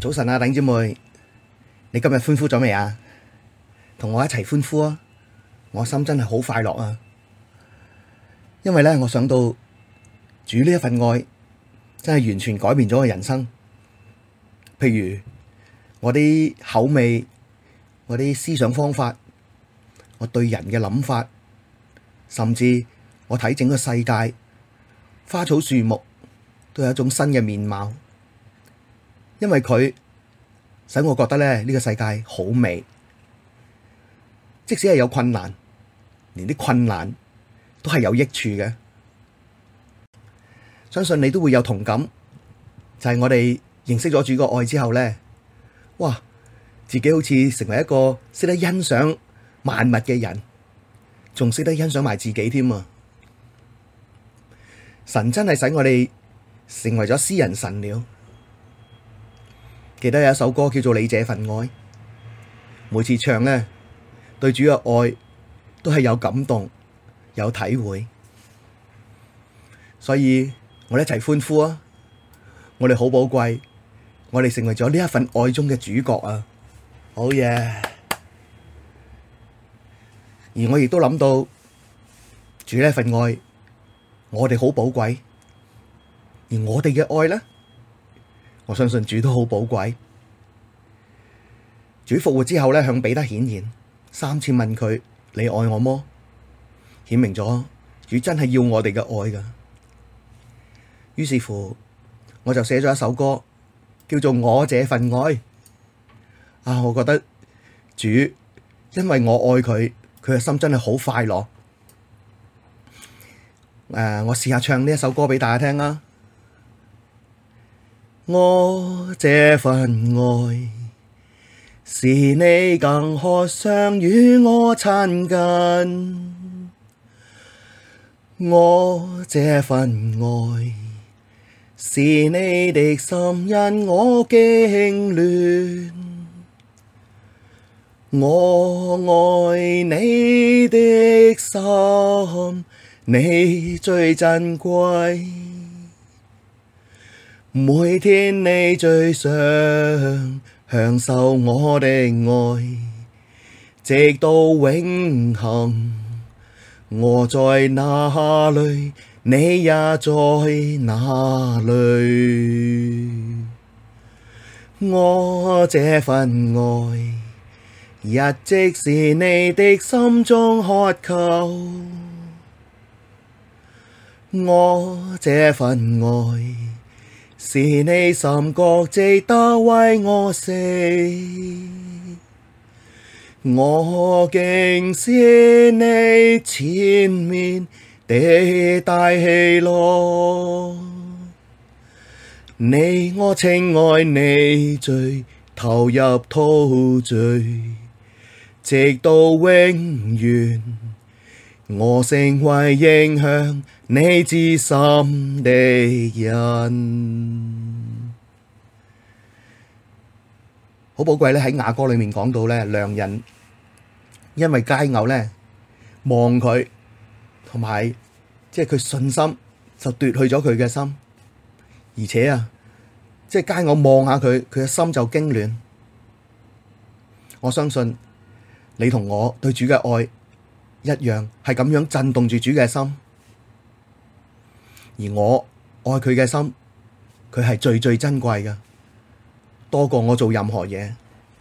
早晨啊，弟兄姊妹，你今日歡呼咗未啊？同我一齊歡呼啊！我心真係好快樂啊！因為咧，我想到主呢一份愛真係完全改變咗我人生。譬如我啲口味、我啲思想方法、我對人嘅諗法，甚至我睇整個世界、花草樹木，都有一種新嘅面貌。因為佢使我覺得咧，呢個世界好美，即使係有困難，連啲困難都係有益處嘅。相信你都會有同感，就係我哋認識咗主個愛之後咧，哇！自己好似成為一個識得欣賞萬物嘅人，仲識得欣賞埋自己添啊！神真係使我哋成為咗詩人神了。記得有一首歌叫做《你這份愛》，每次唱呢，對主嘅愛都係有感動、有體會，所以我哋一齊歡呼啊！我哋好寶貴，我哋成為咗呢一份愛中嘅主角啊！好嘢！而我亦都諗到主呢一份愛，我哋好寶貴，而我哋嘅愛呢，我相信主都好寶貴。主復活之後咧，向彼得顯現3次問佢：你愛我麼？顯明咗主真係要我哋嘅愛噶。於是乎，我就寫咗一首歌，叫做《我這份愛》。啊，我覺得主因為我愛佢，佢嘅心真係好快樂。我試下唱呢一首歌俾大家聽啦。我這份愛，是你更渴想與我親近。我這份愛，是你的心因我經戀。我愛你的心，你最珍貴。每天你最想享受我的愛，直到永恆。我在哪裡，你也在哪裡。我這份愛，一直是你的心中渴求。我這份愛，是你深覺值得為我死，我竟是你前面的大喜樂。你我情愛你最投入陶醉，直到永遠。我成為影響你至深的人。好寶貴咧，喺雅歌裏面講到咧，良人因為佳偶咧望佢，同埋即係佢信心就奪去咗佢嘅心，而且啊，即係佳偶望下佢，佢嘅心就驚亂。我相信你同我對主嘅愛一樣係咁樣震動住主嘅心，而我愛佢嘅心，佢係最最珍貴嘅，多過我做任何嘢。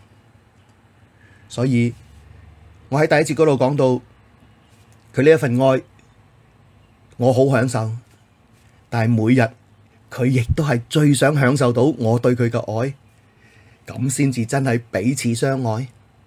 所以我喺第一節嗰度講到佢呢一份愛，我好享受，但係每日佢亦都係最想享受到我對佢嘅愛，咁先至真係彼此相愛。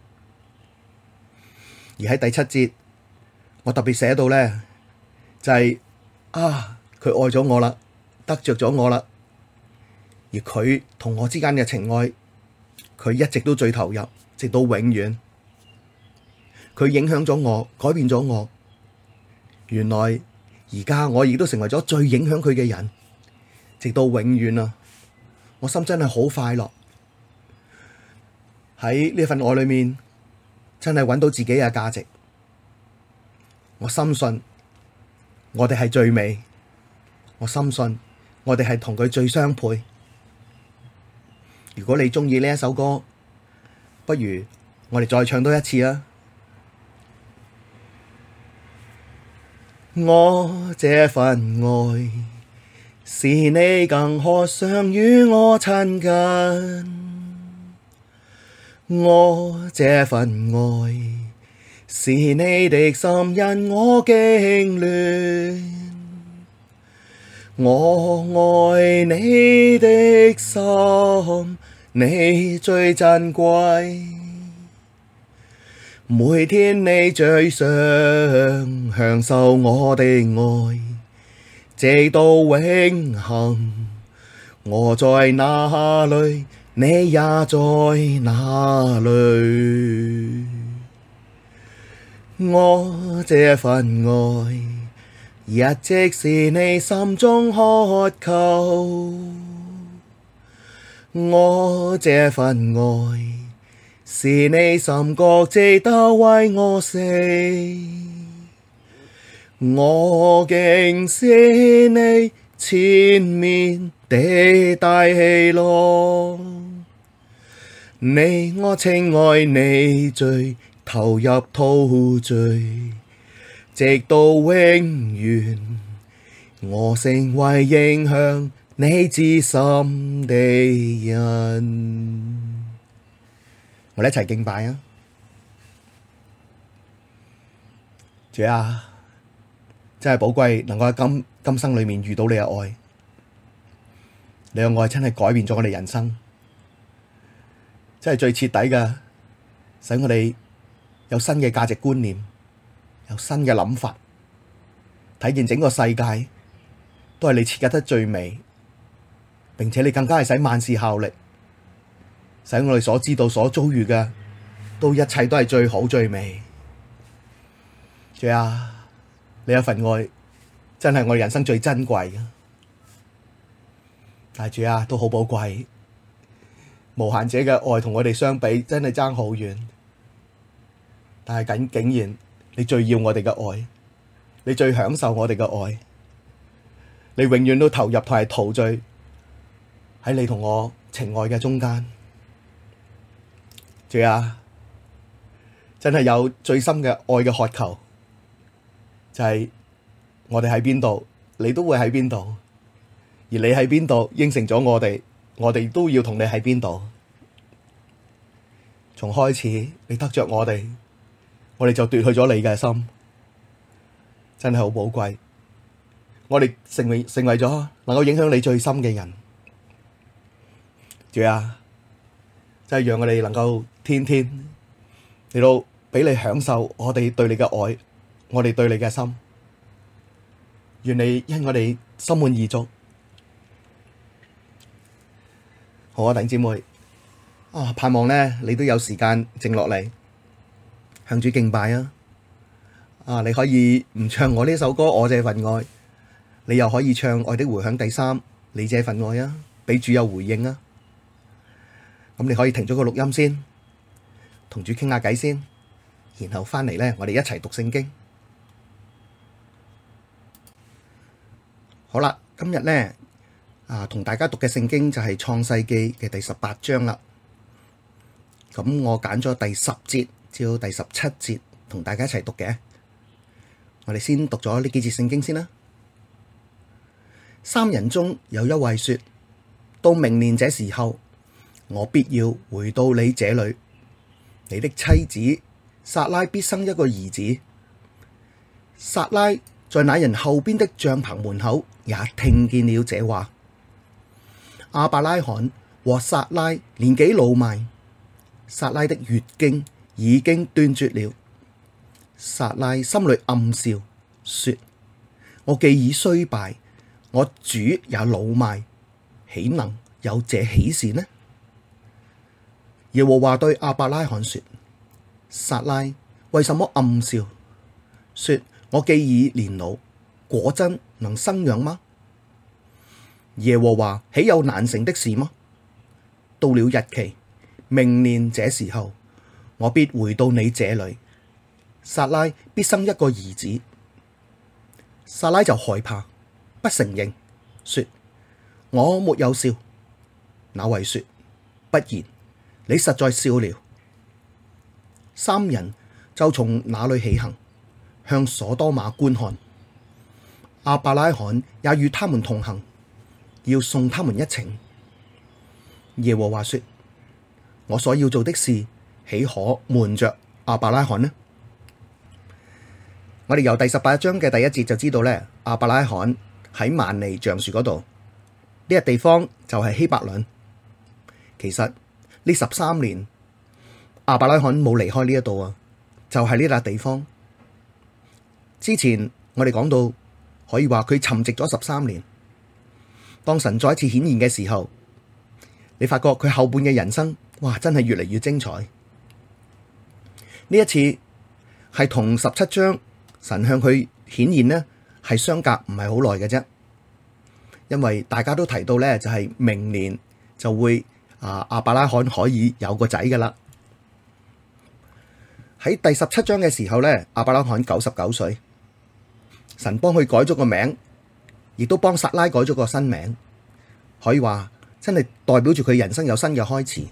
而喺第7節，我特別寫到咧，就係佢愛咗我啦，得着咗我啦，而佢同我之間嘅情愛，佢一直都最投入，直到永遠。佢影響咗我，改變咗我。原來而家我亦都成為咗最影響佢嘅人，直到永遠啊！我心真係好快樂，喺呢份愛裏面，真係揾到自己嘅價值。我深信我哋係最美，我深信我哋係同佢最相配。 如果你鍾意呢一首歌，不如我哋再唱多一次啊！我這份愛，是你更渴想與我親近，我這份愛，是你的心因我經戀，我愛你的心，你最珍貴。每天你最想享受我的愛，直到永恆。我在哪裡，你也在哪裡。我這份愛，一直是你心中渴求。我這份愛，是你深覺值得為我死，我竟是你前面的大喜樂。你我情愛你最投入陶醉，直到永遠，我成為影響你至深的人。我哋一齊敬拜啊！主啊，真係寶貴，能夠喺今生裏面遇到你嘅愛，你嘅愛真係改變咗我哋人生，真係最徹底嘅，使我哋有新嘅價值觀念，有新嘅諗法，睇見整個世界都係你設計得最美，並且你更加係使萬事效力。使我哋所知道、所遭遇嘅，都一切都係最好最美。主啊，你一份愛真係我哋人生最珍貴嘅。但係主啊，都好寶貴，無限者嘅愛同我哋相比，真係爭好遠。但係竟然你最要我哋嘅愛，你最享受我哋嘅愛，你永遠都投入同係陶醉喺你同我情愛嘅中間。主啊，真係有最深嘅愛嘅渴求，就係我哋喺邊度，你都會喺邊度；而你喺邊度，應承咗我哋都要同你喺邊度。從開始你得着我哋就奪去咗你嘅心，真係好寶貴。我哋成為咗能夠影響你最深嘅人。主啊，真係讓我哋能夠天天嚟到俾你享受我哋對你嘅愛，我哋對你嘅心。願你因我哋心滿意足。好啊，弟兄姊妹啊，盼望咧你都有時間靜落嚟向主敬拜啊！啊，你可以唔唱我呢首歌《我這份愛》，你又可以唱《愛的回響》第3，你這份愛啊，俾主有回應啊！咁你可以停咗個錄音先，同主傾下偈先，然後翻嚟咧，我哋一齊讀聖經。好啦，今日咧同大家讀嘅聖經就係創世記嘅第18章啦。咁我揀咗第10節至到第17節同大家一齊讀嘅。我哋先讀咗呢幾節聖經先啦。三人中有一位說：到明年這時候，我必要回到你這裡，你的妻子撒拉必生一個兒子。撒拉在那人後邊的帳棚門口也聽見了這話。亞伯拉罕和撒拉年紀老邁，撒拉的月經已經斷絕了。撒拉心裡暗笑，說：我既已衰敗，我主也老邁，豈能有這喜事呢？耶和華對亞伯拉罕說：撒拉為什麼暗笑，說我既已年老，果真能生養嗎？耶和華豈有難成的事嗎？到了日期，明年這時候，我必回到你這裡，撒拉必生一個兒子。撒拉就害怕，不承認，說：我沒有笑。那位說： 不然，你實在笑了。三人就從那裡起行，向所多瑪觀看。亞伯拉罕也與他們同行，要送他們一程。耶和華說：我所要做的事，豈可瞞着亞伯拉罕呢？我哋由第18章嘅第1節就知道咧，亞伯拉罕喺幔尼橡樹嗰度，呢個地方就係希伯崙。其實呢13年，亞伯拉罕冇離開呢一度啊，就係呢笪地方。之前我哋講到，可以話佢沉寂咗13年。當神再一次顯現嘅時候，你發覺佢後半嘅人生，哇，真係越嚟越精彩。呢一次係同17章神向佢顯現呢，係相隔唔係好耐嘅啫。因為大家都提到呢，就係明年就會亞伯拉罕可以有個仔噶啦。喺第17章嘅時候呢，亞伯拉罕99歲，神幫佢改咗個名，亦都幫撒拉改咗個新名，可以話真係代表住佢人生有新嘅開始。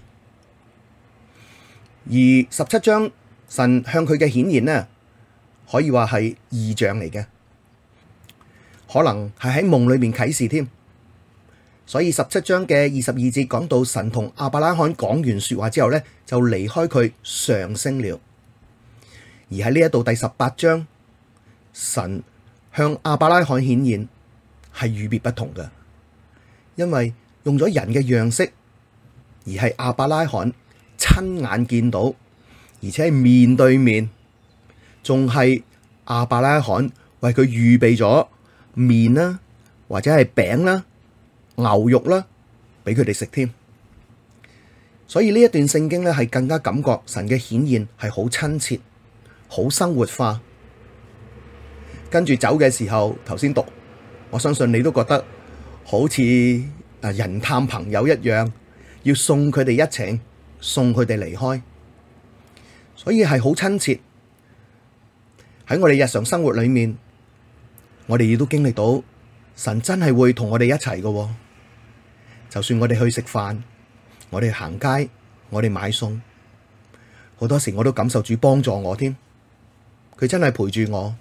而17章神向佢嘅顯現呢，可以話係異象嚟嘅，可能係喺夢裏面啟示添。所以17章嘅22節講到神同亞伯拉罕講完說話之後呢，就離開佢上升了。而喺呢一度第18章，神向亞伯拉罕顯現係與別不同嘅，因為用咗人嘅樣式，而係亞伯拉罕親眼見到，而且係面對面，仲係亞伯拉罕為佢預備咗麵啦，或者係餅啦、牛肉啦，俾佢哋食添。所以呢一段聖經咧，係更加感覺神嘅顯現係好親切、好生活化。跟住走嘅時候，頭先讀，我相信你都覺得好似人探朋友一樣，要送佢哋一程，送佢哋離開，所以係好親切。喺我哋日常生活裏面，我哋亦都經歷到神真係會同我哋一齊嘅。就算我哋去食飯，我哋行街，我哋買餸，好多時我都感受主幫助我添。佢真係陪住我。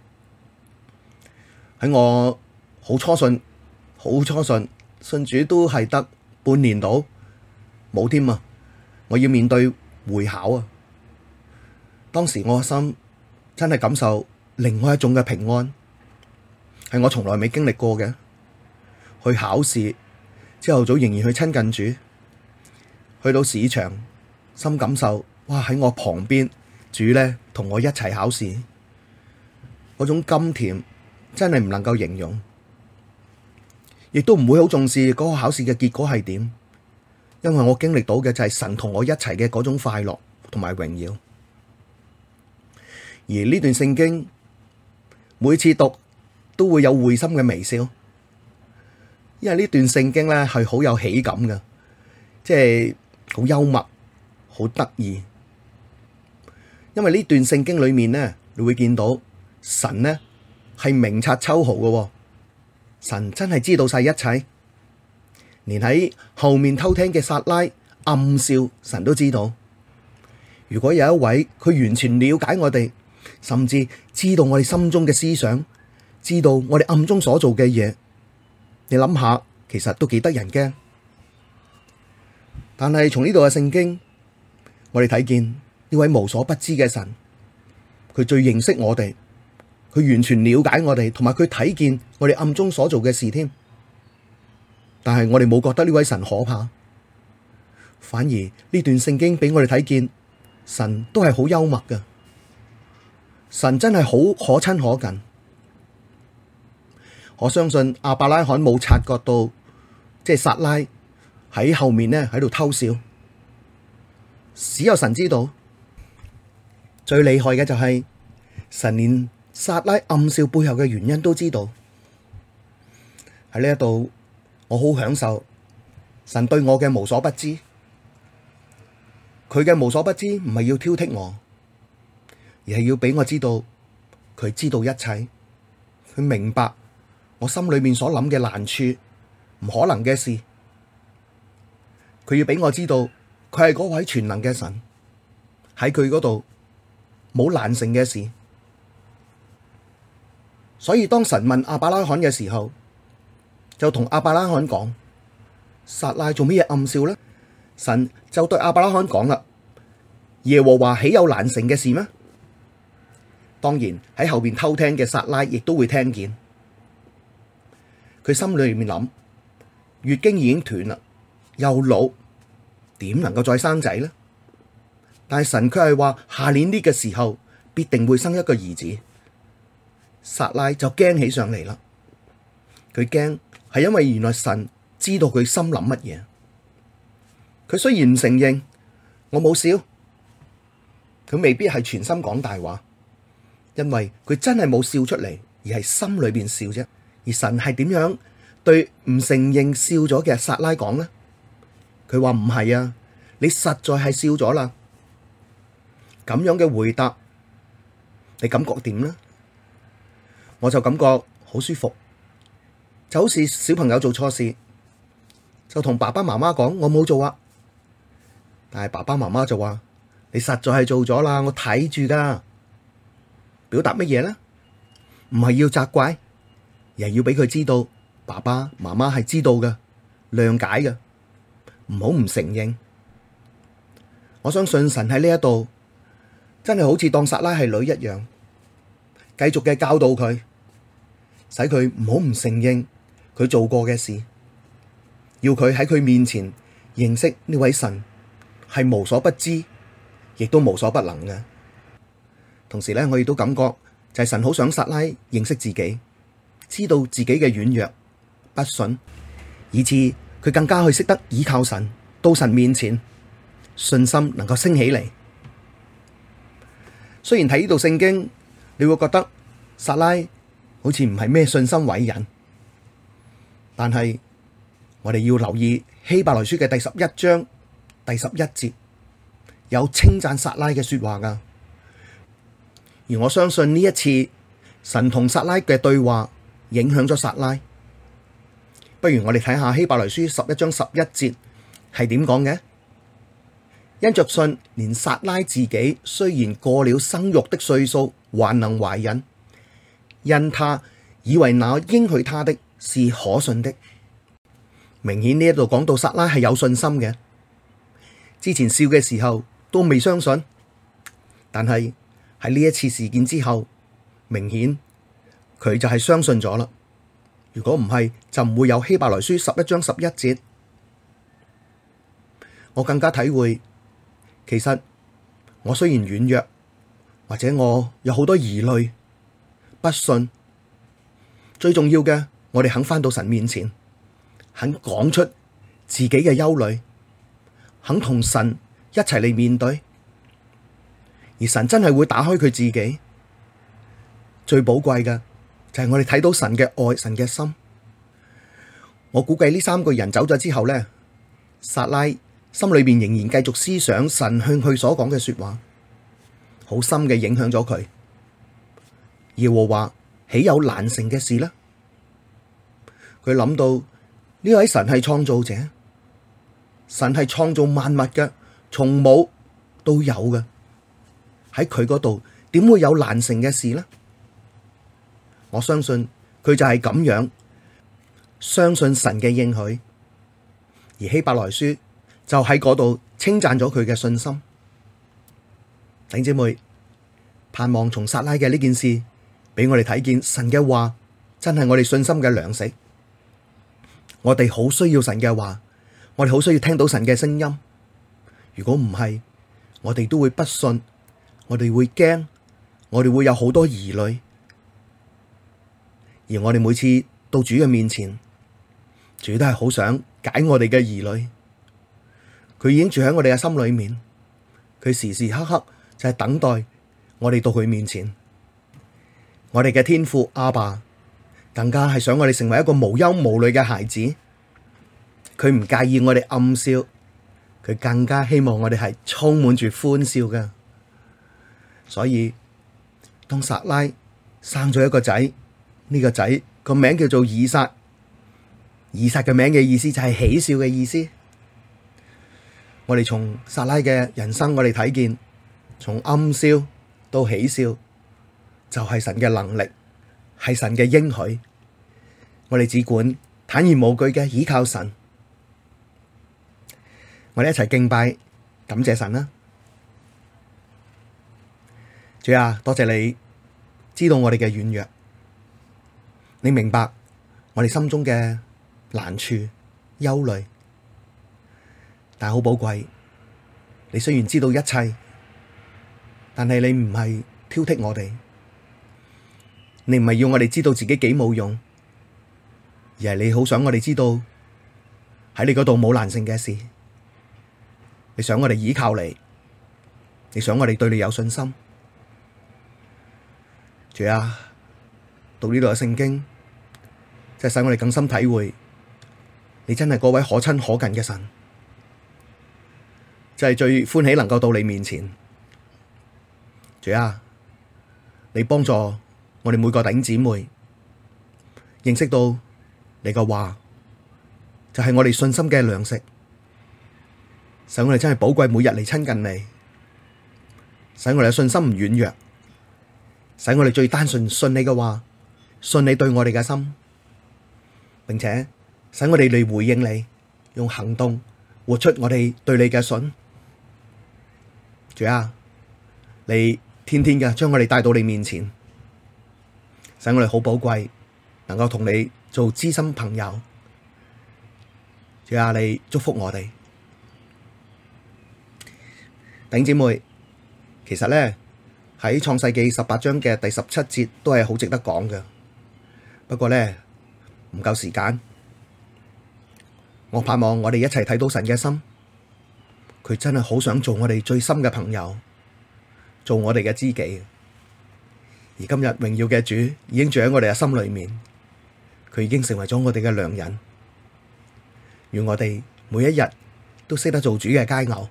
喺我好初信信主都係得半年到，冇添啊！我要面對會考啊！當時我個心真係感受另外一種嘅平安，係我從來未經歷過嘅。去考試，朝頭早仍然去親近主，去到市場，心感受，哇！喺我旁邊，主呢同我一齊考試，嗰種甘甜真係唔能夠形容，亦都唔會好重視嗰個考試嘅結果係點，因為我經歷到嘅就係神同我一齊嘅嗰種快樂同埋榮耀。而呢段聖經每次讀都會有會心嘅微笑，因為呢段聖經咧係好有喜感嘅，即係好幽默、好得意。因為呢段聖經裏面呢，你會見到神呢係明察秋毫嘅，神真係知道晒一切，連喺後面偷聽嘅撒拉暗笑，神都知道。如果有一位佢完全了解我哋，甚至知道我哋心中嘅思想，知道我哋暗中所做嘅嘢，你諗下，其實都幾得人驚。但係從呢度嘅聖經，我哋睇見呢位無所不知嘅神，佢最認識我哋，佢完全了解我哋，同埋佢睇見我哋暗中所做嘅事添。但係我哋冇覺得呢位神可怕，反而呢段聖經俾我哋睇見，神都係好幽默㗎。神真係好可親可近。我相信亞伯拉罕冇察覺到，即係撒拉喺後面呢喺度偷笑，只有神知道。最厲害嘅就係神連撒拉暗笑背後嘅原因都知道。喺呢一度，我好享受神對我嘅無所不知。佢嘅無所不知唔係要挑剔我，而係要俾我知道佢知道一切，佢明白我心裏面所諗嘅難處，唔可能嘅事。 佢要俾我知道，佢係嗰位全能嘅神，喺佢嗰度冇難成嘅事。所以當神問亞伯拉罕嘅時候，就同亞伯拉罕講：撒拉做乜嘢暗笑呢？神就對亞伯拉罕講啦：耶和華豈有難成嘅事咩？當然喺後邊偷聽嘅撒拉亦都會聽見。佢心裏面諗：月經已經斷啦，又老，點能夠再生仔呢？但係神卻係話下年呢個時候必定會生一個兒子。撒拉就驚起上嚟啦。佢驚係因為原來神知道佢心諗乜嘢。佢雖然唔承認我冇笑，佢未必係全心講大話，因為佢真係冇笑出嚟，而係心裏邊笑啫。而神係點樣對唔承認笑咗嘅撒拉講呢？佢話唔係啊，你實在係笑咗啦。咁樣嘅回答，你感覺點呢？我就感覺好舒服，就好似小朋友做錯事，就同爸爸媽媽講我冇做啊，但係爸爸媽媽就話你實在係做咗啦，我睇住噶。表達乜嘢呢？唔係要責怪，而係要俾佢知道爸爸媽媽係知道嘅，諒解嘅，唔好唔承認。我相信神喺呢一度真係好似當撒拉係女一樣，繼續嘅教導佢，使佢唔好唔承認佢做過嘅事，要佢喺佢面前認識呢位神係無所不知，亦都無所不能嘅。同時咧，我亦都感覺就係神好想撒拉認識自己，知道自己嘅軟弱不信，以致佢更加去識得倚靠神，到神面前信心能夠升起嚟。雖然睇呢度聖經，你會覺得撒拉好似唔係咩信心偉人，但係我哋要留意希伯來書嘅第11章第11節有稱讚撒拉嘅說話噶。而我相信呢一次神同撒拉嘅對話影響咗撒拉。不如我哋睇下希伯來書11章11節係點講嘅？因着信，連撒拉自己雖然過了生育的歲數，還能懷孕，因他以為那應許他的是可信的。明顯呢一度講到撒拉係有信心嘅，之前笑嘅時候都未相信，但係喺呢一次事件之後，明顯佢就係相信咗啦。如果唔係，就唔會有希伯來書11章11節。我更加體會，其實我雖然軟弱，或者我有好多疑慮、不信，最重要嘅，我哋肯返到神面前，肯講出自己嘅憂慮，肯同神一齊嚟面對。而神真係會打開佢自己，最寶貴嘅就係我哋睇到神嘅愛、神嘅心。我估計呢3個人走咗之後呢，撒拉心裏邊仍然繼續思想神向佢所講嘅說話，好深嘅影響咗佢。耶和華豈有難成嘅事呢？佢諗到呢位神係創造者，神係創造萬物嘅，從冇到有嘅。喺佢嗰度點會有難成嘅事呢？我相信佢就係咁樣相信神嘅應許，而希伯來書就喺嗰度稱讚咗佢嘅信心。弟兄姊妹，盼望從撒拉嘅呢件事俾我哋睇見神嘅話真係我哋信心嘅糧食。我哋好需要神嘅話，我哋好需要聽到神嘅聲音。如果唔係，我哋都會不信。我哋會驚，我哋會有好多疑慮，而我哋每次到主嘅面前，主都係好想解我哋嘅疑慮。佢已經住喺我哋嘅心裏面，佢時時刻刻就係等待我哋到佢面前。我哋嘅天父阿爸更加係想我哋成為一個無憂無慮嘅孩子，佢唔介意我哋暗笑，佢更加希望我哋係充滿住歡笑嘅。所以當撒拉生咗一個仔，呢個仔個名叫做以撒，以撒嘅名嘅意思就係喜笑嘅意思。 我哋從撒拉嘅人生，我哋睇見從暗笑到喜笑，就係神嘅能力，係神嘅應許。我哋只管坦然無懼嘅倚靠神。我哋一齊敬拜，感謝神啦！主啊，多謝你知道我哋嘅軟弱，你明白我哋心中嘅難處、憂慮，但係好寶貴。你雖然知道一切，但係你唔係挑剔我哋，你唔係要我哋知道自己幾冇用，而係你好想我哋知道喺你嗰度冇難成嘅事。你想我哋倚靠你，你想我哋對你有信心。主啊，讀呢度嘅聖經，即係使我哋更深體會，你真係嗰位可親可近嘅神，就係最歡喜能夠到你面前。主啊，你幫助我哋每個弟兄姊妹認識到你嘅話，就係我哋信心嘅糧食。使我哋真係寶貴，每日嚟親近你，使我哋嘅信心唔軟弱，使我哋最單純信你嘅話，信你對我哋嘅心，並且使我哋嚟回應你，用行動活出我哋對你嘅信。主啊，你天天嘅將我哋帶到你面前，使我哋好寶貴，能夠同你做知心朋友。主啊，你祝福我哋。弟兄姊妹，其實咧喺創世記18章嘅第17節都係好值得講嘅，不過咧唔夠時間。我盼望我哋一齊睇到神嘅心，佢真係好想做我哋最深嘅朋友，做我哋嘅知己。而今日榮耀嘅主已經住喺我哋嘅心裏面，佢已經成為咗我哋嘅良人。願我哋每一日都識得做主嘅佳偶。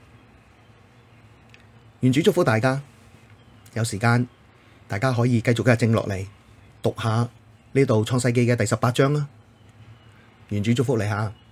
願主祝福大家，有時間大家可以繼續嘅靜落嚟讀下呢度創世記嘅第18章啦。願主祝福你下。